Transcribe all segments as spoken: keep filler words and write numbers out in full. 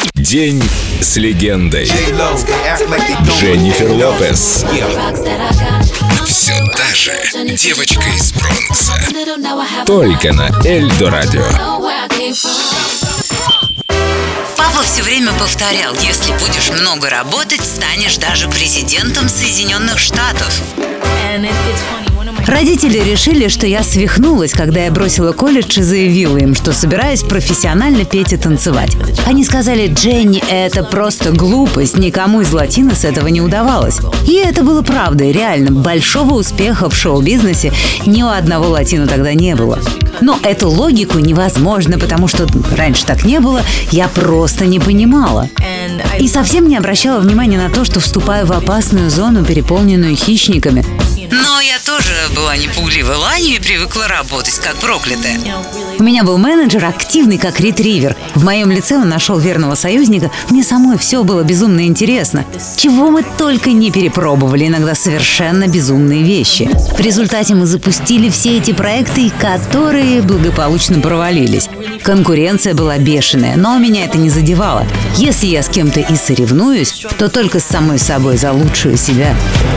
День с легендой. Дженнифер Лопес. Все та же девочка из Бронкса. Только на Эльдо Радио. Папа все время повторял: если будешь много работать, станешь даже президентом Соединенных Штатов. Родители решили, что я свихнулась, когда я бросила колледж и заявила им, что собираюсь профессионально петь и танцевать. Они сказали: Дженни, это просто глупость, никому из латино с этого не удавалось. И это было правдой, реально. Большого успеха в шоу-бизнесе ни у одного латино тогда не было. Но эту логику невозможно, потому что раньше так не было, я просто не понимала. И совсем не обращала внимания на то, что вступаю в опасную зону, переполненную хищниками. Но я тоже была непугливой ланью и привыкла работать как проклятая. У меня был менеджер, активный как ретривер. В моем лице он нашел верного союзника. Мне самой все было безумно интересно. Чего мы только не перепробовали, иногда совершенно безумные вещи. В результате мы запустили все эти проекты, которые благополучно провалились. Конкуренция была бешеная, но меня это не задевало. Если я с кем-то и соревнуюсь, то только с самой собой за лучшую себя.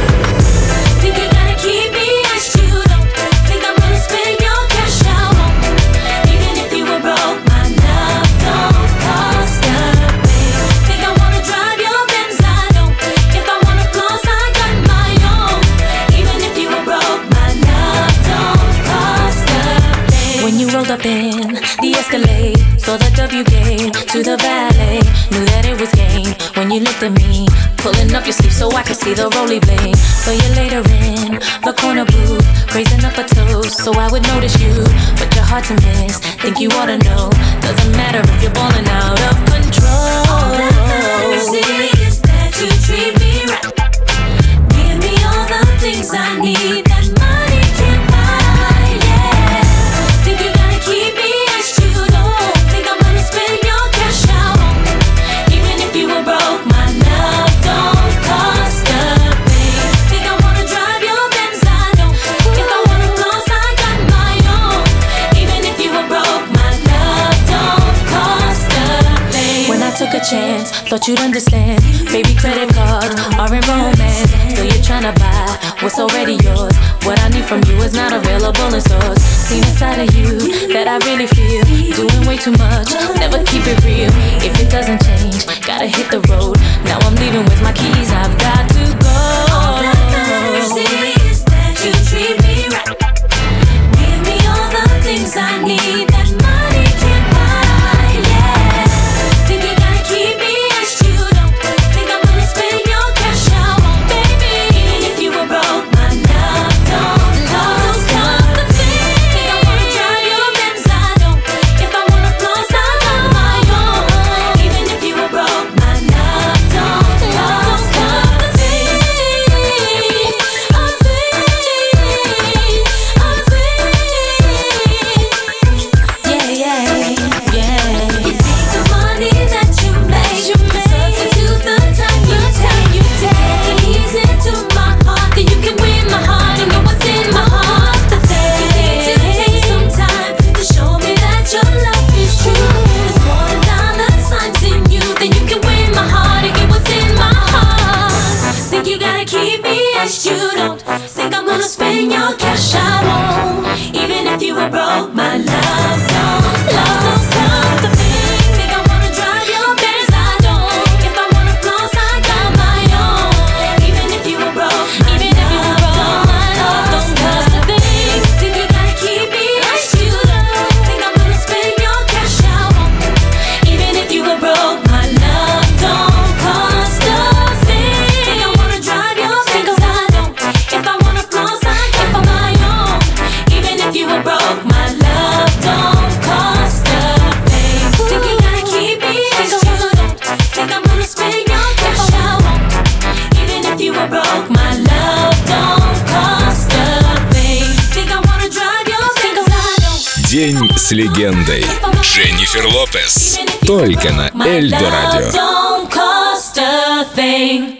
Up in the Escalade, saw the W game to the valet, knew that it was game when you looked at me, pulling up your sleeve so I could see the roly blade. So you later in the corner booth, raising up a toast so I would notice you, but you're hard to miss, think you ought to know, doesn't matter if you're balling out of control. All that matters is that you treat me right, give me all the things I need that money can't buy, yeah. Think you gotta keep me as you don't think I'm gonna spend your cash out. Even if you were broke, my love don't cost a thing. Think I wanna drive your Benz, I don't. If I wanna floss, I got my own. Even if you were broke, my love don't cost a thing. When I took a chance, thought you'd understand. Baby, credit cards are in romance. Still you're tryna buy what's already yours. What I need from you is not available in stores. Seen a side of you that I really feel. Doing way too much, never keep it real. If it doesn't change, gotta hit the road. Now I'm leaving with my keys, I've got to go. All that matters is that you treat me right. Give me all the things I need that money can't buy, yeah. Think you gotta keep me as you don't think I'm gonna spend your cash out, baby. Even if you were broke, my love don't cost a thing. Think I wanna drive your Benz, I don't. If I wanna floss, I got my own. Even if you were broke, my love don't cost a thing. A thing, a thing. Yeah, yeah, yeah. You think the money that you make can substitute the time you take, you take. Ease into my heart, then you can win my heart and know what's in my heart. The thing you need to take some time to show me that your love is true. There's more than dollar signs in you, then you can win my heart and get what's in my heart. Think you gotta keep me as you don't think I'm gonna spend your cash, I won't. Even if you were broke, my love don't, love don't cost a thing. Think I wanna drive your Benz, I don't. If I wanna floss, I got my own. Even if you were broke, even if you were broke, my love don't cost a thing. Think you gotta keep me as you don't think I'm gonna spend your cash, I won't. Even if you were broke, my love don't cost a thing. Think I wanna drive your Benz, I don't. If I wanna floss, I got my own. Even if you were broke, my love don't cost a thing. Think you gotta keep me as you don't think I'm gonna spend your cash, I won't. Even if you were broke, my love don't cost a thing. Think I wanna drive your Benz, I don't. День с легендой. Дженнифер Лопес. Только на Эльдо Радио. Don't cost a thing.